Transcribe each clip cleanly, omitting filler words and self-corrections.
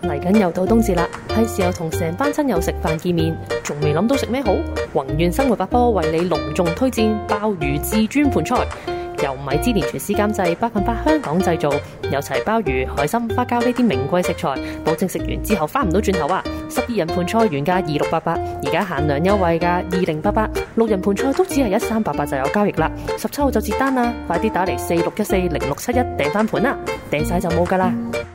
嚟緊又到冬至啦，係時候同成班親友食飯見面，仲未諗到食咩好？宏願生活百科為你隆重推薦鮑魚至尊盤菜，由米芝蓮廚師監製，100%香港製造，有齊鮑魚、海參、花膠呢啲名貴食材，保證食完之後翻唔到轉頭啊！12人盤菜原價2688，而家限量優惠價2088，6人盤菜都只係1388就有交易啦，17號就截單啦，快啲打嚟46140671訂翻盤啦，訂晒就冇噶啦！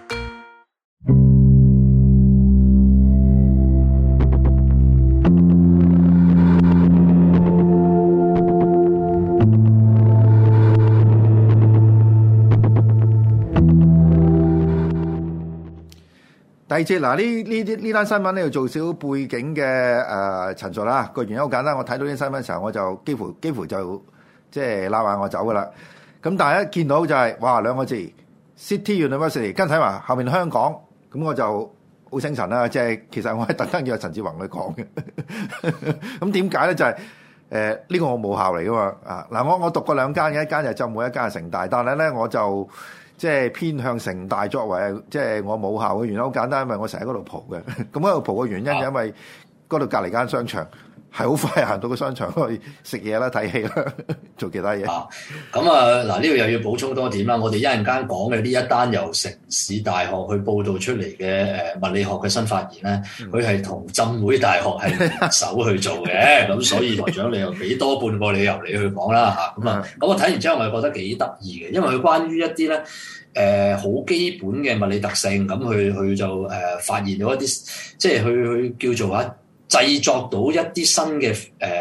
第二節嗱，呢單新聞咧要做少背景嘅陳述啦。個原因好簡單，我睇到啲新聞嘅時候，我就幾乎就即係拉埋我走噶啦。咁但係一見到就係哇兩個字 City University， 跟睇埋後面香港，咁我就好精神啦。即係其實我係特登叫陳志宏去講嘅。咁點解咧？就係呢個我母校嚟噶嘛啊嗱，我讀過兩間嘅，一間就浸會，一間係城大，但係咧我就即係偏向城大作為即係我母校嘅原因好簡單，因為我成日喺嗰度蒲嘅。咁喺度蒲嘅原因就因為嗰度隔離間商場係好快行到個商場去食嘢啦、睇戲啦、做其他嘢。 咁嗱呢度又要補充多點啦。我哋一陣間講嘅呢一單由城市大學去報導出嚟嘅物理學嘅新發現咧，佢係同浸會大學係聯手去做嘅。咁所以台長你又俾多半個理由你去講啦嚇。咁我睇完之後我係覺得幾得意嘅，因為佢關於一啲咧好基本嘅物理特性，咁佢就發現到一啲即係佢叫做製作到一啲新嘅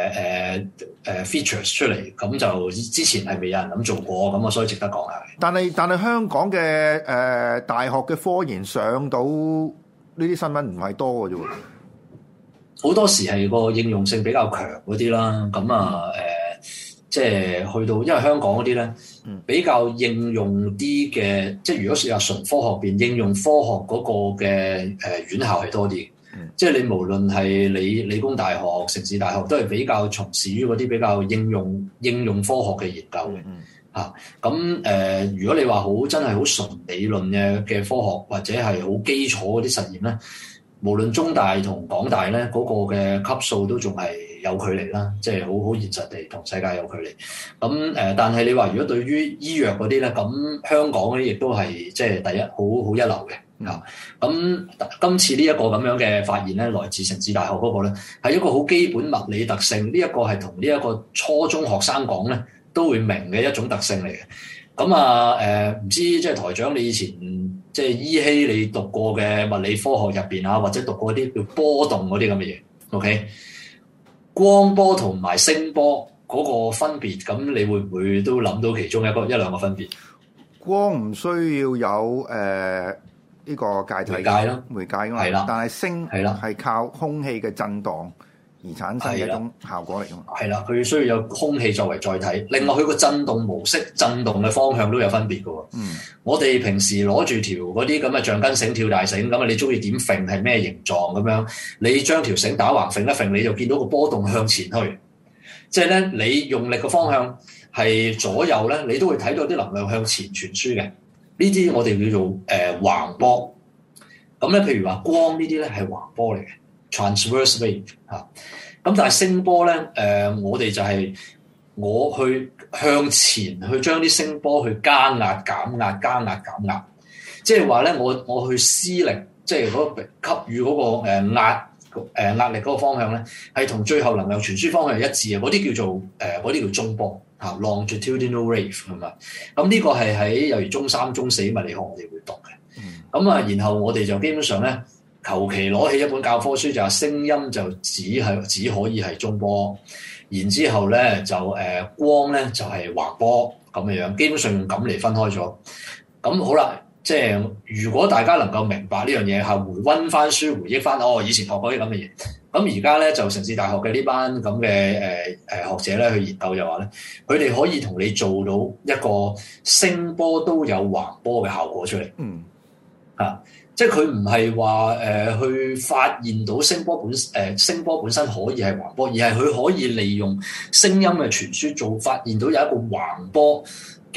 features 出嚟，咁就之前係未有人咁做過，咁我所以值得講下。 但係香港嘅大學嘅科研上到呢啲新聞唔係多嘅啫喎， 好多時係個應用性比較強嗰啲啦。咁即係去到，因為香港嗰啲咧比較應用啲嘅，即係如果係話純科學邊應用科學嗰個嘅院校係多啲。即係你無論係理工大學、城市大學，都係比較從事於嗰啲比較應用科學嘅研究嘅。咁如果你話真係好純理論嘅科學，或者係好基礎嗰啲實驗咧，無論中大同港大咧嗰個嘅級數都仲係有距離啦，即係好現實地同世界有距離。咁但係你話如果對於醫藥嗰啲咧，咁香港嗰啲亦都係即係第一好一流嘅。咁今次呢一個咁樣嘅發現咧，來自城市大學嗰個咧，係一個好基本物理特性。呢一個係同呢一個初中學生講咧都會明嘅一種特性嚟嘅。咁唔知即係台長你以前即係依稀你讀過嘅物理科學入邊啊，或者讀過啲叫波動嗰啲咁嘅嘢 ，OK？ 光波同埋聲波嗰個分別，咁你會唔會都諗到其中一兩個分別？ 光唔需要有呢個介體媒介㗎嘛，係啦，但係聲係靠空氣嘅震盪而產生嘅一種效果嚟㗎嘛。 係啦，佢需要有空氣作為載體。另外佢個震動模式、震動嘅方向都有分別㗎喎。我哋平時攞住條嗰啲咁嘅橡筋繩、跳大繩咁啊，你中意點揈係咩形狀咁樣？你將條繩打橫揈一揈，你就見到個波動向前去。即係咧，你用力嘅方向係左右咧，你都會睇到啲能量向前傳輸嘅。呢啲我哋叫做橫波，咁咧譬如話光呢啲咧係橫波嚟嘅 transverse wave 嚇，咁但係聲波咧我哋就係我去向前去將啲聲波去加壓減壓加壓減壓，即係話咧我去施力，即係嗰個給予嗰個壓力嗰個方向咧係同最後能量傳輸方向係一致嘅，嗰啲叫做嗰啲叫中波。longitudinal wave 係嘛？咁呢個係喺例如中三、中四物理學我哋會讀嘅。然後我哋就基本上咧，求其攞起一本教科書就話聲音就只可以係中波，然之後咧就光咧就係橫波咁嘅樣，基本上用咁嚟分開咗。咁好啦，即係如果大家能夠明白呢樣嘢，係回溫翻書，回憶翻以前學過啲咁嘅嘢。咁而家咧就城市大學嘅呢班咁嘅學者咧去研究就話咧，佢哋可以同你做到一個聲波都有橫波嘅效果出嚟。即係佢唔係話去發現到聲波本身可以係橫波，而係佢可以利用聲音嘅傳輸發現到有一個橫波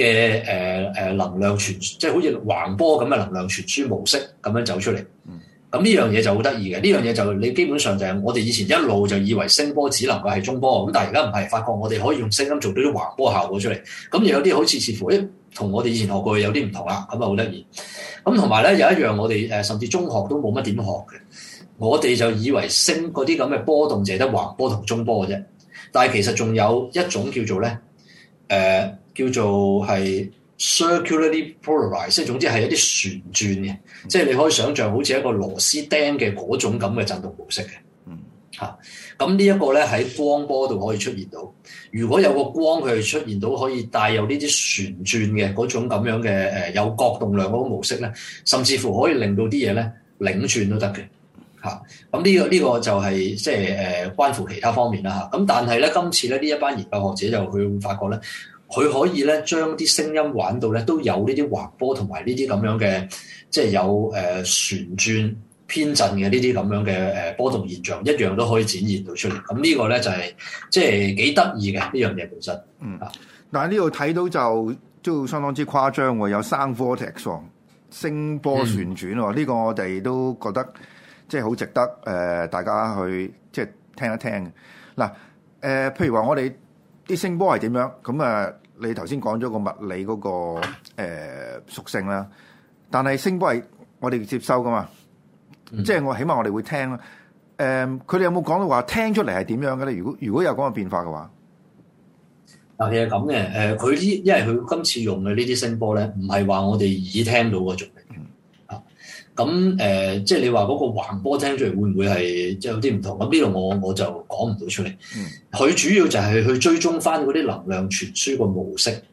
嘅能量傳，即係好似橫波咁嘅能量傳輸模式咁樣走出嚟。 咁呢樣嘢就好得意嘅，呢樣嘢就你基本上就係我哋以前一路就以為聲波只能夠係中波，咁但係而家唔係，發覺我哋可以用聲音做到啲橫波效果出嚟，咁又有啲好似乎同我哋以前學過嘅有啲唔同啦，咁啊好得意。咁同埋咧有一樣我哋甚至中學都冇乜點學嘅，我哋就以為聲嗰啲咁嘅波動淨係得橫波同中波嘅啫，但係其實仲有一種叫做咧叫做係circularly polarized， 即係總之係一啲旋轉嘅，即係你可以想像好似一個螺絲釘嘅嗰種咁嘅震動模式嘅。咁呢一個咧喺光波度可以出現到。如果有個光佢係出現到可以帶有呢啲旋轉嘅嗰種咁樣嘅有角動量嗰個模式咧，甚至乎可以令到啲嘢咧擰轉都得嘅。咁呢個就係即係關乎其他方面啦。咁但係咧今次咧呢一班研究學者就佢會發覺咧，佢可以咧將啲聲音玩到咧都有呢啲橫波同埋呢啲咁樣嘅即係有旋轉偏振嘅呢啲咁樣嘅波動現象，一樣都可以展現到出嚟。咁呢個咧就係即係幾得意嘅呢樣嘢本身。 但係呢度睇到就都相當之誇張喎，有聲 vortex 聲波旋轉喎，呢個我哋都覺得即係好值得大家去即係聽一聽嘅。嗱譬如話我哋啲聲波係點樣？咁你頭先講咗個物理嗰個屬性啦，但係聲波係我哋接收噶嘛。即係起碼我哋會聽啦。佢哋有冇講到話聽出嚟係點樣嘅咧？如果有咁嘅變化嘅話， 其實咁嘅。佢因為佢今次用嘅呢啲聲波咧，唔係話我哋耳聽到嗰種嚟。咁即係你話嗰個橫波聽出嚟會唔會係即係有啲唔同？咁呢度我就講唔到出嚟。佢主要就係去追蹤翻嗰啲能量傳輸個模式。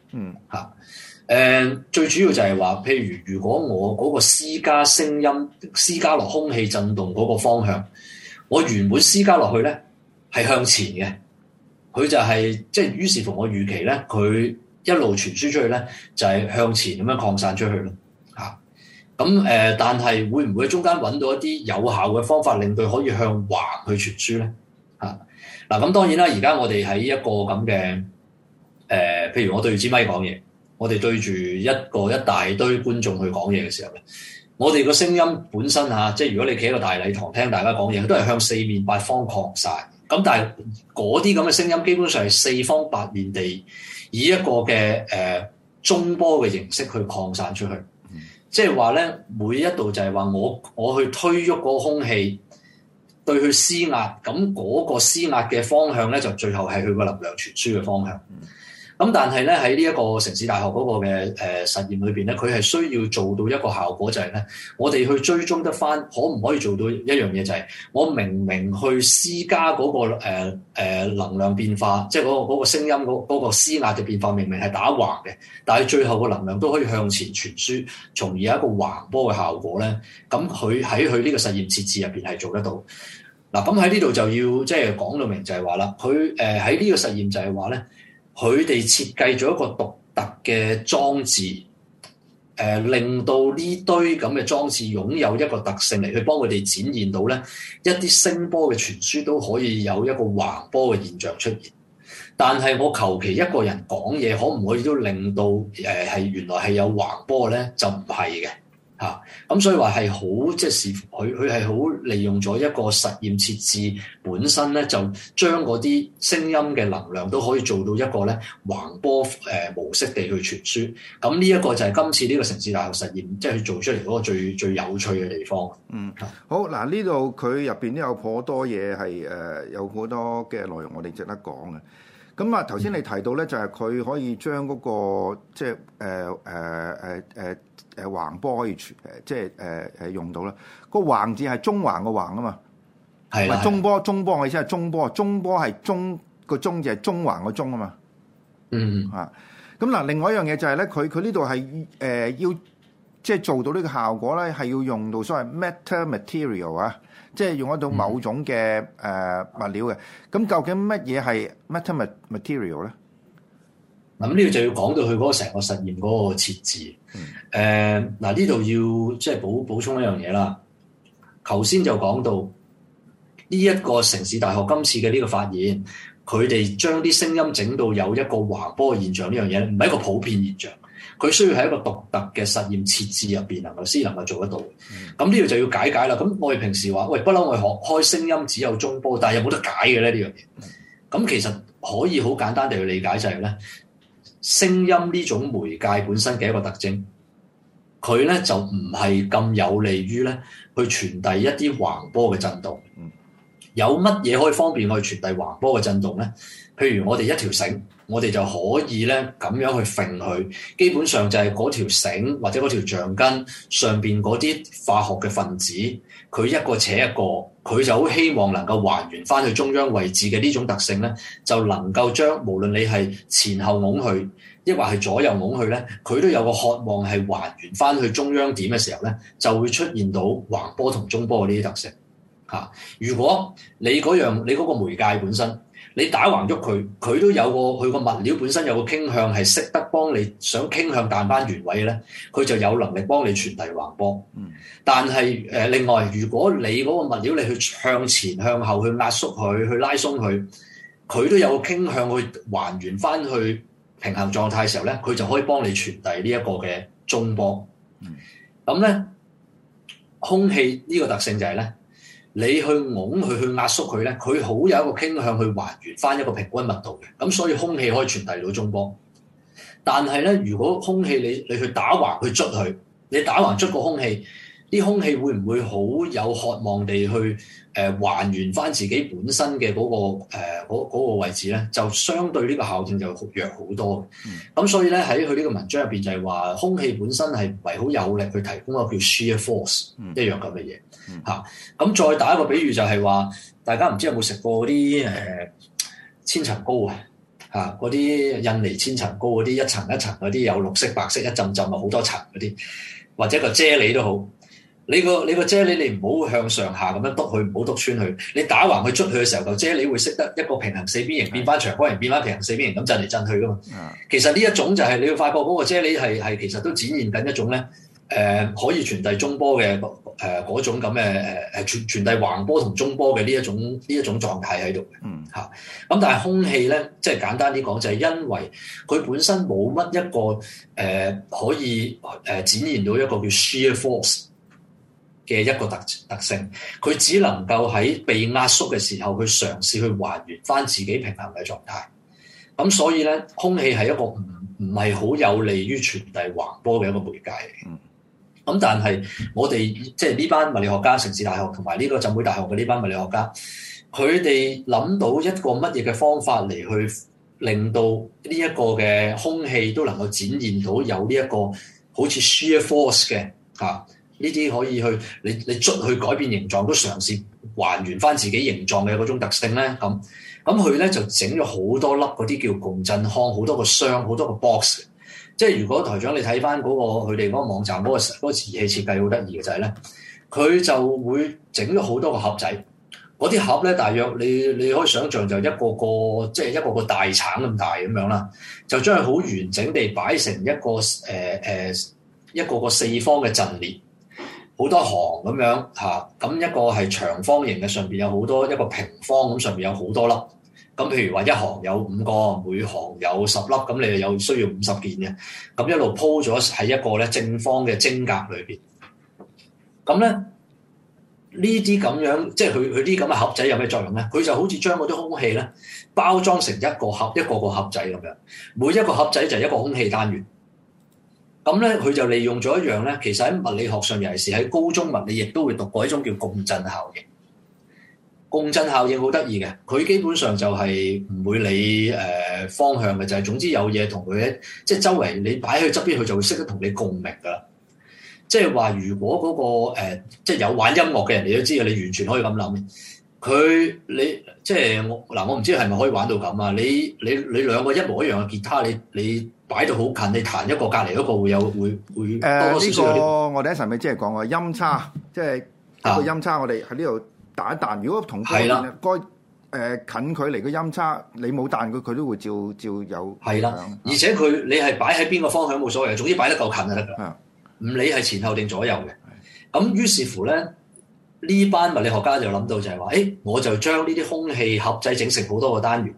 最主要就係話，譬如果我嗰個施加聲音施加落空氣震動嗰個方向，我原本施加落去咧係向前嘅，佢就係即係於是乎我預期咧，佢一路傳輸出去咧就係向前咁樣擴散出去咯。但係會唔會中間揾到一啲有效嘅方法，令佢可以向橫去傳輸咧？咁當然啦，而家我哋喺一個咁嘅譬如我對住支咪講嘢。我哋對住一大堆觀眾去講嘢嘅時候咧，我哋個聲音本身即係如果你企喺個大禮堂聽大家講嘢，都係向四面八方擴散。咁但係嗰啲咁嘅聲音基本上係四方八面地以一個嘅中波嘅形式去擴散出去。即係話咧，每一度就係話我去推喐嗰個空氣，對佢施壓，咁嗰個施壓嘅方向咧，就最後係佢個能量傳輸嘅方向。咁但係咧喺呢一個城市大學嗰個嘅實驗裏邊咧，佢係需要做到一個效果，就係咧，我哋去追蹤得翻，可唔可以做到一樣嘢，就係我明去施加嗰個能量變化，即係嗰個聲音嗰個施壓嘅變化，明係打橫嘅，但係最後個能量都可以向前傳輸，從而有一個橫波嘅效果咧。咁佢喺佢呢個實驗設置入邊係做得到。嗱，咁喺呢度就要即係講到明就係話啦，佢喺呢個實驗就係話咧。佢哋設計咗一個獨特嘅裝置，令到呢堆咁嘅裝置擁有一個特性嚟去幫佢哋展現到咧一啲聲波嘅傳輸都可以有一個橫波嘅現象出現。但係我求其一個人講嘢，可唔可以都令到係原來係有橫波咧？就唔係嘅。咁所以話係好即係視乎佢係好利用咗一個實驗設置本身咧，就將嗰啲聲音嘅能量都可以做到一個咧橫波模式地去傳輸。咁呢一個就係今次呢個城市大學實驗即係去做出嚟嗰個最有趣嘅地方。 好嗱，呢度佢入邊都有頗多嘢係有好多嘅內容我哋值得講嘅。咁啊，頭先你提到咧，就係佢可以將嗰個即係橫波可以即係用到啦。個橫字係中橫個橫啊嘛，係啦。中波我意思係中波係中個中字係中橫個中啊嘛。咁嗱，另外一樣嘢就係咧，佢呢度係要即係做到呢個效果咧，係要用到所謂 metamaterial 啊。即係用得到某種嘅物料嘅，咁究竟乜嘢係 metamaterial 咧？ 咁呢個就要講到佢嗰個成個實驗嗰個設置。呢度要即係補充一樣嘢啦。頭先就講到呢一個城市大學今次嘅呢個發現，佢哋將啲聲音整到有一個橫波嘅現象，呢樣嘢唔係一個普遍現象。 佢需要喺一個獨特嘅實驗設置入邊先能夠做得到。咁呢度就要解啦。咁我哋平時話，喂，不嬲我哋學開聲音只有中波，但係有冇得解嘅咧呢樣嘢？咁其實可以好簡單地去理解就係咧，聲音呢種媒介本身嘅一個特徵，佢咧就唔係咁有利於咧去傳遞一啲橫波嘅震動。有乜嘢可以方便我哋傳遞橫波嘅震動咧？譬如我哋一條繩，我哋就可以咧咁樣去揈佢，基本上就係嗰條繩或者嗰條橡筋上邊嗰啲化學嘅分子，佢一個扯一個，佢就好希望能夠還原翻去中央位置嘅呢種特性咧，就能夠將無論你係前後拱去，抑或係左右拱去咧，佢都有個渴望係還原翻去中央點嘅時候咧，就會出現到橫波同中波嘅呢啲特性。如果你嗰個媒介本身，你打橫喐佢，佢都有佢個物料本身有個傾向係識得幫你想傾向彈翻原位咧，佢就有能力幫你傳遞橫波。但係另外，如果你嗰個物料你去向前向後去壓縮佢，去拉鬆佢，佢都有個傾向去還原翻去平衡狀態嘅時候咧，佢就可以幫你傳遞呢一個嘅中波。咁咧，空氣呢個特性就係咧，你去拱佢去壓縮佢咧，佢好有一個傾向去還原翻一個平均密度嘅，咁所以空氣可以傳遞到中波。但係咧，如果空氣你去打橫去捽佢，你打橫捽個空氣，啲空氣會唔會好有渴望地去還原翻自己本身嘅嗰個位置咧？就相對呢個效應就弱好多。咁所以咧，喺佢呢個文章入邊就係話，空氣本身係唔係好有力去提供一個叫 shear force 一樣咁嘅嘢嚇。咁再打一個比喻就係話，大家唔知有冇食過嗰啲千層糕啊？嚇，嗰啲印尼千層糕嗰啲一層一層嗰啲有綠色白色一浸浸啊，好多層嗰啲，或者個啫喱都好。你個啫喱你唔好向上下咁樣篤佢，唔好篤穿佢。你打橫去捽佢嘅時候，個啫喱會識得一個平行四邊形變翻長方形，變翻平行四邊形咁震嚟震去噶嘛。其實呢一種就係你會發覺嗰個啫喱係其實都展現緊一種咧可以傳遞中波嘅嗰種咁嘅傳遞橫波同中波嘅呢一種狀態喺度嘅嚇。咁但係空氣咧，即係簡單啲講，就係因為佢本身冇乜一個可以展現到一個叫 shear force 嘅一個特性，佢只能夠喺被壓縮嘅時候，去嘗試去還原翻自己平衡嘅狀態。咁所以咧，空氣係一個唔係好有利於傳遞橫波嘅一個媒介嚟。咁但係我哋即係呢班物理學家，城市大學同埋呢個浸會大學嘅呢班物理學家，佢哋諗到一個乜嘢嘅方法嚟去令到呢一個嘅空氣都能夠展現到有呢一個好似 shear force 嘅嚇。呢啲可以去你捽去改變形狀，都嘗試還原翻自己形狀嘅嗰種特性咧。咁佢咧就整咗好多粒嗰啲叫共振腔，好多個箱，好多個 box。即係如果台長你睇翻嗰個佢哋嗰個網站嗰個儀器設計好得意嘅就係咧，佢就會整咗好多個盒仔。嗰啲盒咧，大約你可以想像就一個個即係一個個大橙咁大咁樣啦，就將佢好完整地擺成一個一個個四方嘅陣列。好多行咁樣嚇，咁一個係長方形嘅，上邊有好多一個平方咁，上邊有好多粒。咁譬如話一行有5個，每行有10粒，咁你就有需要50件嘅。咁一路鋪咗喺一個咧正方嘅晶格裏邊。咁咧呢啲咁樣，即係佢啲咁嘅盒仔有咩作用咧？佢就好似將嗰啲空氣咧包裝成一個個盒仔咁樣，每一個盒仔就係一個空氣單元。咁咧，佢就利用咗一樣咧，其實喺物理學上，尤其是喺高中物理，亦都會讀過一種叫共振效應。共振效應好得意嘅，佢基本上就係唔會理方向嘅，就係總之有嘢同佢即係周圍你擺喺佢側邊，佢就會識得同你共鳴噶啦。即係話，如果嗰個即係有玩音樂嘅人，你都知嘅，你完全可以咁諗。你即係我唔知係咪可以玩到咁啊？你兩個一模一樣嘅吉他，你擺到好近，你彈一個隔離嗰個會多多少少有啲。呢個我哋一陣咪即係講個音差，即係一個音差，我哋喺呢度彈一彈。如果同嗰近距離嘅音差，你冇彈佢都會照有。係啦， 而且你係擺喺邊個方向冇所謂，總之擺得夠近就得㗎。唔理係前後定左右嘅。咁於是乎咧，呢班物理學家就諗到就係話，我就將呢啲空氣盒仔整成好多個單元。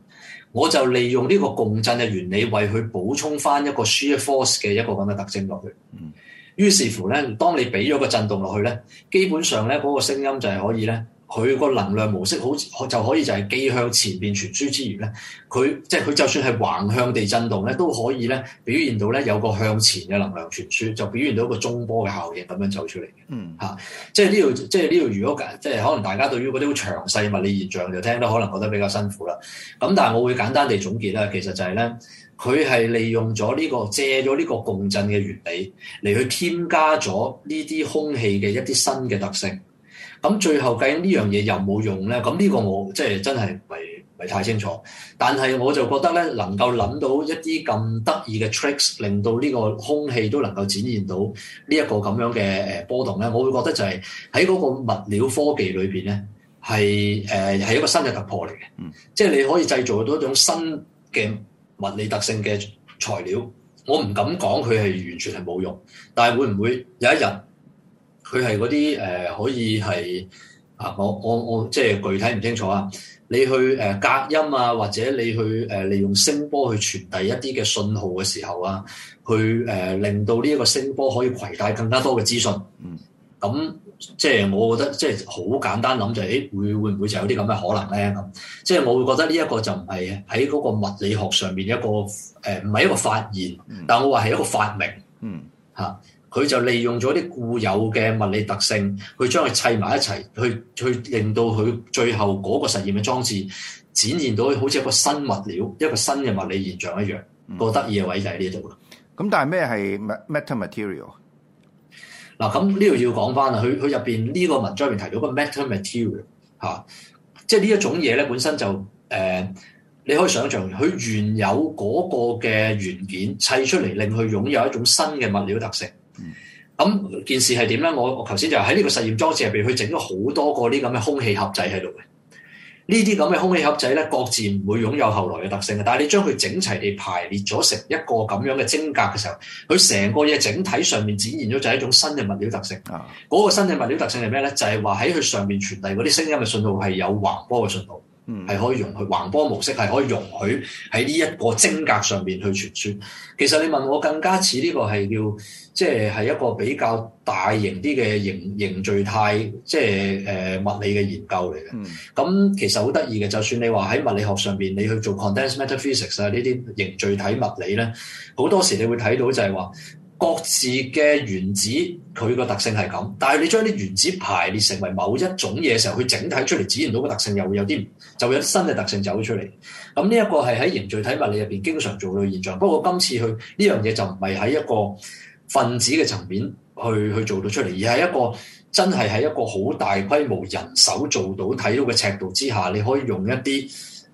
我就利用呢個共振嘅原理，為佢補充翻一個 shear force 嘅一個咁嘅特徵落去。於是乎咧，當你俾咗個震動落去咧，基本上咧嗰個聲音就係可以咧，佢個能量模式就可以就係既向前邊傳輸之餘咧，佢就算係橫向地震動咧，都可以咧表現到咧有個向前嘅能量傳輸，就表現到一個中波嘅效應咁樣走出嚟嘅。即係呢度，如果即係可能大家對於嗰啲好詳細物理現象就聽得可能覺得比較辛苦啦。咁但係我會簡單地總結啦，其實就係咧，佢係利用咗借咗呢個共振嘅原理嚟去添加咗呢啲空氣嘅一啲新嘅特性。咁最後究竟呢樣嘢有冇用咧？咁呢個我即係真係唔係太清楚。但係我就覺得咧，能夠諗到一啲咁得意嘅 tricks，令到呢個空氣都能夠展現到呢一個咁樣嘅波動咧，我會覺得就係喺嗰個物料科技裏邊咧，係一個新嘅突破嚟嘅。即係你可以製造到一種新嘅物理特性嘅材料。我唔敢講佢係完全係冇用，但係會唔會有一日？佢係嗰啲可以係我即係具體唔清楚啊！你去隔音啊，或者你去利用聲波去傳遞一啲嘅信號嘅時候啊，去令到呢一個聲波可以攜帶更加多嘅資訊。咁即係我覺得即係好簡單諗就係會唔會就有啲咁嘅可能咧？咁即係我會覺得呢一個就唔係喺嗰個物理學上面一個唔係一個發現，但我話係一個發明。佢就利用咗啲固有嘅物理特性，去將佢砌埋一齊，去令到佢最後嗰個實驗嘅裝置展現到好似一個新物料、一個新嘅物理現象一樣。個得意嘅位就喺呢度啦。 咁但係咩係 metamaterial？ 嗱，咁呢度要講翻啦，佢入邊呢個文章入邊提到個 metamaterial 即係呢一種嘢咧，本身就你可以想象佢原有嗰個嘅元件砌出嚟，令佢擁有一種新嘅物料特性。咁件事係點咧？我頭先就喺呢個實驗裝置入邊，佢整咗好多個啲咁嘅空氣盒仔喺度嘅。呢啲咁嘅空氣盒仔咧，各自唔會擁有後來嘅特性嘅。但係你將佢整齊地排列咗成一個咁樣嘅晶格嘅時候，佢成個嘢整體上面展現咗就係一種新嘅物料特性。嗰個新嘅物料特性係咩咧？就係話喺佢上面傳遞嗰啲聲音嘅信號係有橫波嘅信號。係可以容許橫波模式，係可以容許喺呢一個晶格上面去傳輸。其實你問我更加似呢個係叫即係一個比較大型啲嘅凝聚態，即係物理嘅研究嚟嘅。咁其實好得意嘅，就算你話喺物理學上邊，你去做 condensed matter physics 啊呢啲凝聚體物理咧，好多時你會睇到就係話，各自嘅原子佢個特性係咁，但係你將啲原子排列成為某一種嘢嘅時候，佢整體出嚟展現到個特性又會有啲就會有新嘅特性走出嚟。咁呢一個係喺凝聚體物理入邊經常做到嘅現象。不過今次佢呢樣嘢就唔係喺一個分子嘅層面去做到出嚟，而係一個真係喺一個好大規模人手做到睇到嘅尺度之下，你可以用一啲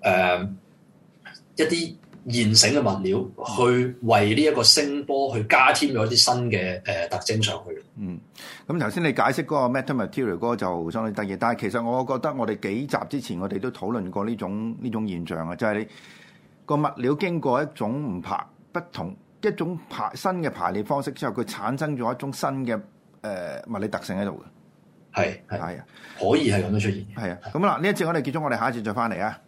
現成嘅物料去為呢一個聲波去加添咗一啲新嘅特徵上去。 咁頭先你解釋嗰個 metamaterial 嗰個就相當得意，但係其實我覺得我哋幾集之前我哋都討論過呢種現象啊，就係你個物料經過一種不同一種新嘅排列方式之後，佢產生咗一種新嘅物理特性喺度嘅。 係啊，可以係咁樣出現。 係啊，咁嗱呢一節我哋結束，我哋下一節再翻嚟啊。